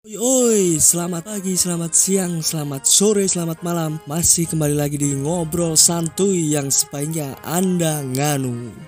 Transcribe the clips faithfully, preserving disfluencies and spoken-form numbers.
Oi, selamat pagi, selamat siang, selamat sore, selamat malam. Masih kembali lagi di Ngobrol Santuy yang sebaiknya Anda nganu.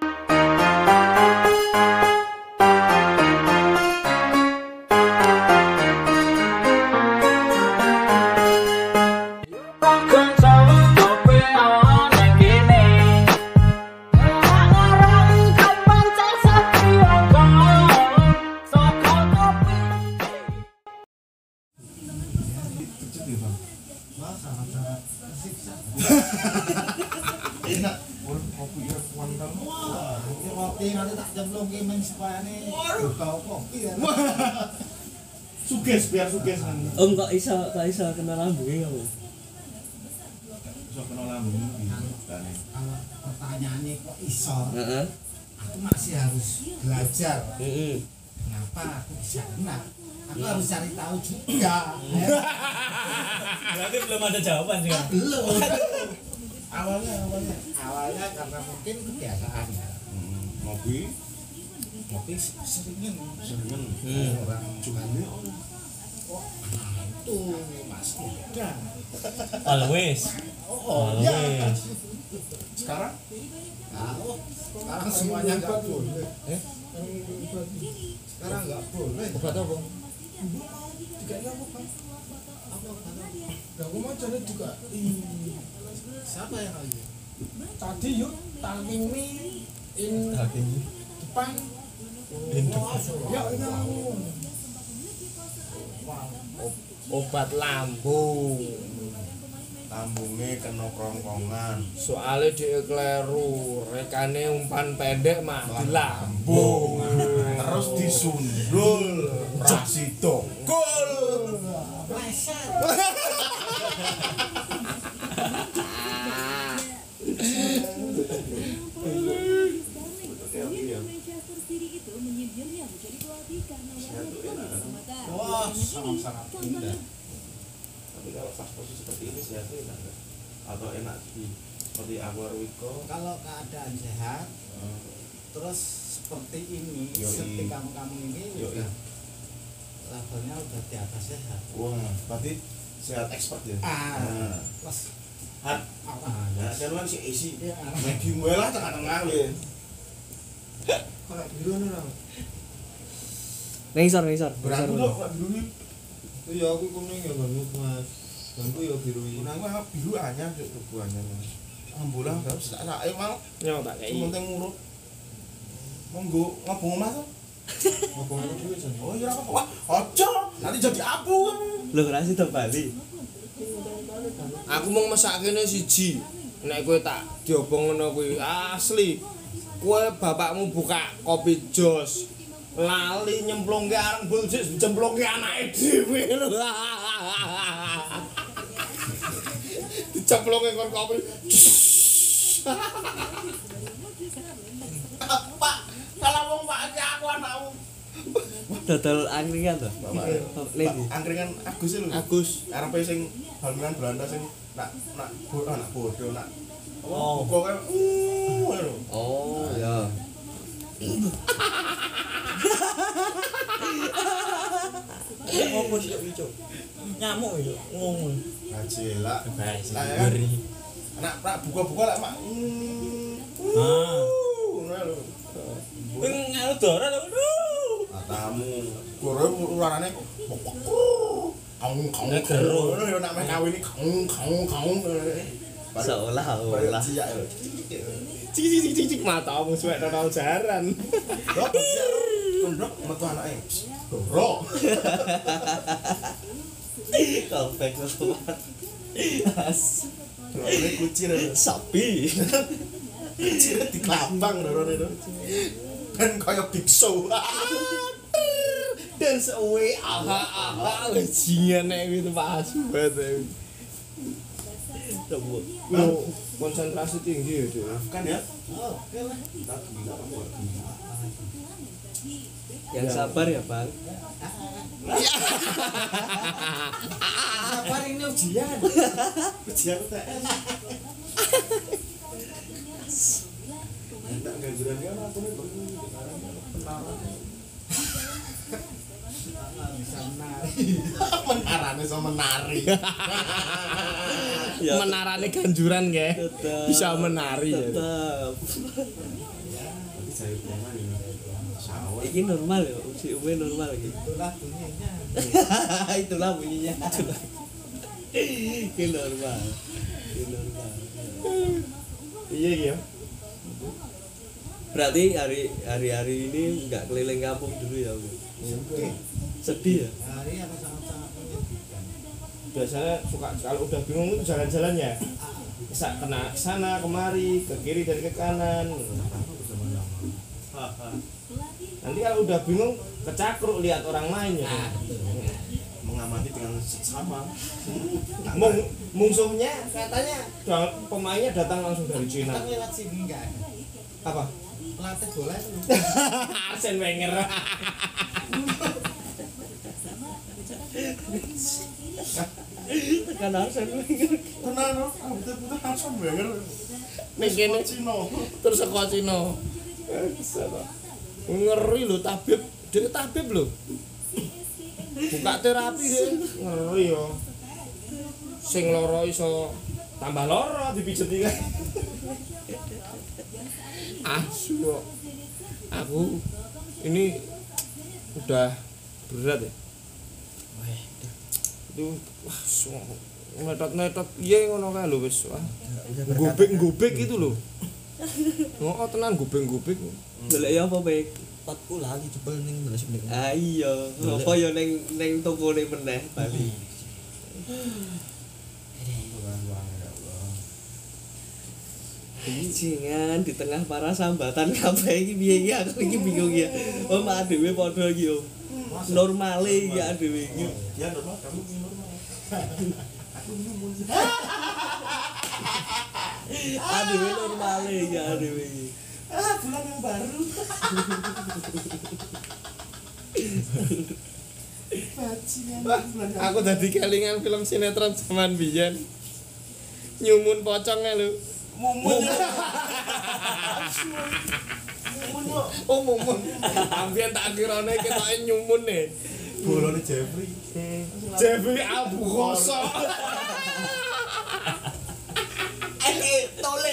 Enak, kopi ya kuantan. Wah, kopi nanti tak jemplung ke men supayane tau kopi ya. Suges biar suges kan. Om kok iso kok iso kenal lambunge kamu? Iso kenal lambung iki. Kalau pertanyaannya kok iso? Heeh. Aku masih harus belajar. Heeh. Kenapa aku bisa kenal? Aku harus cari tahu juga. Berarti belum ada jawaban sih. Belum. awalnya awalnya awalnya karena mungkin kebiasaan ya. Hmm, ngopi Ngopi seringin seringan Hmm. orang juga oh nah itu Mas udah Always. oh ya Always. sekarang nah, oh, sekarang semuanya nggak boleh Eh? sekarang nggak boleh Obat apa? Tiganya apa Pak? Apa kata? Ya aku mau cari juga. Siapa yang lagi? Tadi yuk, talking me in depan. In depan. Ya ini aku. Obat lambung. lambungnya kena kerongkongan Soalnya dia kleru, rekane umpan pendek mah di lambung. terus disundul rasi dongkul Pleset. Wah, sangat-sangat indah. tapi kalau pas posisi seperti ini sehatnya enak nggak? Atau enak di seperti Aquarwiko Kalau keadaan sehat, terus seperti ini, Yoi. seperti kamu-kamu ini Yoi. udah levelnya udah di atas sehat. wah berarti sehat expert ya. Ah, Nah, plus hat apa? ya dan kan si isi Ya, medium well lah tengah-tengah ya. kalau biru nih lah. Ngisor, ngisor. Berangku dong kalau biru ini Iya aku kuning ya banget mas, bantu ya biru ini. nah gua biru aja cuk tubuhannya mas ambulah gak usah tak ayo mau Nyo tak kei. penting murut monggo ngobong omah tuh. Ngomong aku dulu sana. Oh iya apa wah ojo nanti jadi abu kamu. Lho rasi to Bali. Aku mau masak kene siji. Nek kowe tak diobong ngono kuwi asli. Kowe bapakmu buka kopi jos. Lali nyemplungke areng buljik jemplungke anake dhewe lho. Dicemplungke kon kopi. Pak kalau wong Pak iki aku anakmu. Dodol angkringan to? Bapak Lady. angkringan Agus lho. Agus. Arepe sing bangunan Belanda sing nak nak bodoh nak bodoh nak. Oh. Buka kan uh lho. Oh, ya. Apa sih itu? Nyamuk itu, ngomong. Ngajela. Guys, Lah ya kan. Nak nak buka-buka lek mak. Ah. Ngono lho. Wing anu dora lho. Matamu. Gore urarane kaung kaung Nek gero. ngono yo nak meh kawin iki kaung kaung kaung. Seolah-olah. Ciyak lho. cik cik cik cik matamu suwek nang jaran. Lho, kondok metu anake. Doro. Kompak banget. As. Dorone kucir. Sapi. Kucir di kelambang dorone itu. Kan kaya biksu. Dance away aha aha jingan nek gitu pas banget. Coba. Lo konsentrasi tinggi ya, Dek. Kan ya? Oh, oke lah. Kita gila apa buat gila. Yang sabar ya, Bang. Sabar ini ujian. Ujian U T S. Enggak gajuran dia aku nih penara. bisa menari. Menarane sama menari. Ya, Menarane ganjuran nggih. tetap Bisa menari ya. tetap. Tapi saya uang ini sawah. Ini normal ya, uji umumnya normal gitu. Itulah bunyinya. Itulah bunyinya. Ini normal. Ini normal. Iya iya. Berarti hari hari-hari ini nggak keliling kampung dulu ya, Bu? Oke. Sedih ya? Hari apa sangat-sangat menyedihkan. Biasanya suka kalau udah bingung itu jalan-jalan ya. Bisa kena sana kemari, ke kiri dan ke kanan. Nanti kalau udah bingung kecakruk lihat orang lain ya. Mengamati dengan sama. Mung, mungsuhnya katanya da- pemainnya datang langsung dari Cina. Kan lewat sini enggak ada. Apa? Pelatih bola itu. Arsene Wenger. Tekan Arsene Wenger. Tenan loh, betul-betul langsung Wenger. Ning kene Cino. terus saka Cina. Ngeri lho tabib, dia tabib lho. Buka terapi dia. Ngeri yo. Sing loro iso tambah loro dipijet iki. Asu kok. Aku ini udah berat ya. Itu wah netot-netot piye ngono kae lho wis. Wah. Gobek-gobek itu lho. Oh, tenan gobek-gobek. Golek ya apa, Pek? Potku lali jebol ning belas menit. Ah iya, apa ya ning ning tokone meneh Bali. Jingan di tengah para sambatan kabeh iki piye iki aku iki bingung ya. Oh, mak dhewe padha iki yo. Normale iki dhewe iki. Dia normal, kamu ini normal. Aku nyumun. Adewe normale iki dhewe iki. Ah, bulan yang baru. Bajingan bulan yang Aku dadi kelingan film sinetron zaman biyen. Nyumun pocongnya lho. mumun. Mumun kok. Oh, mumun. Ambiyen tak kirane ketoke nyumun e. Bolone Jeffrey. Jeffrey Abu Khoso. Eh, tole.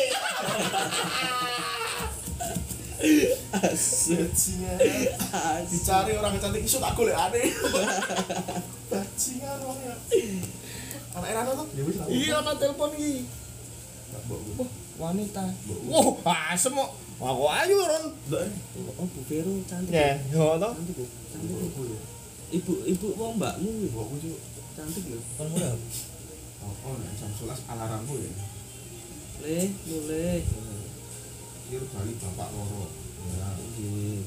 Bajingan. Dicari orang cantik iso tak golek aneh. Bajingan wong ya. Anak Erana tuh? Ya wis lah. Iya, ana telepon iki. Mbok. Wah, wanita. Wah, asem kok. Aku ayu Ron. Oh, Bu Vero cantik. Ya, yo to. Cantik kok. Cantik kok. Ibu ibu wong mbakmu iki. Mbokku cuk. Cantik lho. Kon muda. Oh, oh, nek jam sebelas alarmmu ya. Le, mulai. Kir bali bapak loro. Ya. Nggih.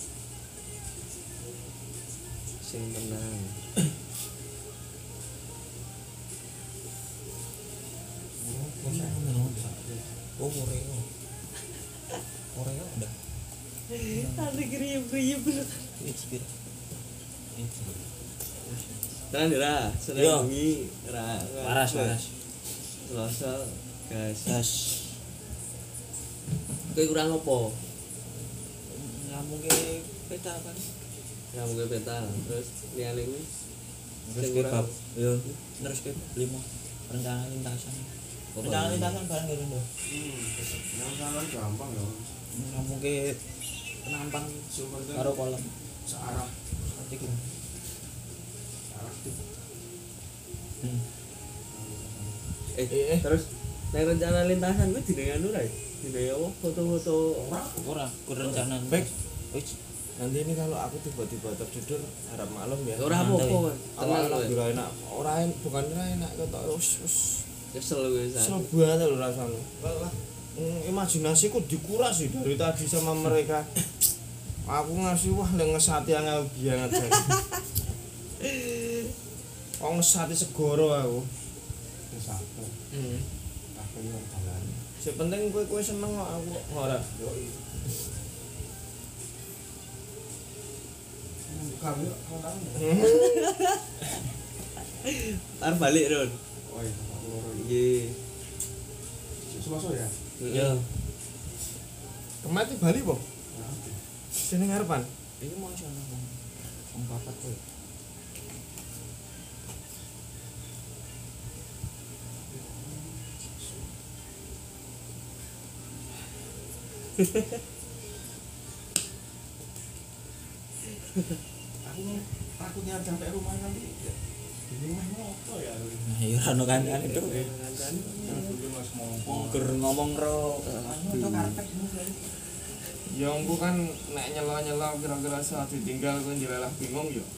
Sing tenang. Oh, Oreo. Oreo udah. Tadi kriip-kriip. Ini cipir. Ini cipir. Tenan ya, Ra. Iya. Seneng bengi, Ra. Waras, waras. Selasa, gas. Gas. Kowe kurang apa? Ngomong ke peta kan. Kamu ke peta, terus liyane kuwi Terus ke bab. Yo, terus ke lima. Rencana lintasan. Rencana lintasan bareng gitu lho. Yang salah gampang ya. Ngomong ke penampang Sumber karo kolam. searah. Nanti gitu. Searah tuh. Hmm. Eh, Eh, eh. terus nek rencana lintasan kuwi dine anu ra? Dine apa? Foto-foto Ora, kur rencana. Baik. Wis. Nanti ini kalau aku tiba-tiba tertidur harap malam ya. ora apa-apa, Mas. Tenang Awalnya kowe. kira enak, ora en- bukan ora enak ketok wis wis Kesel kowe kesel sak. banget lho rasanya. Lah, mm, imajinasiku dikuras sih dari tadi sama mereka. Aku ngasih wah yang ngesati angel banget jan. Oh ngesati segoro aku. Wis aku. Hmm. Aku yang jalan. Sing penting kowe kowe seneng kok aku ora. Yo. Buka yuk, mau tahu nggak? Arep balik, Ron. Oh iya, aku loro iki. Nggih. Selasa ya? Iya. Kemati Bali po? Nah, oke. Sini ngarepan. Ini mau sono. Wong papat kowe. Aku takutnya sampai rumah nanti di rumah ngopo ya. Nah, ya ora ono kancane Cuk. Gur ngomong ro anu karpet. Ya engko kan nek nyela-nyela kira-kira saat ditinggal kowe njelelah bingung ya.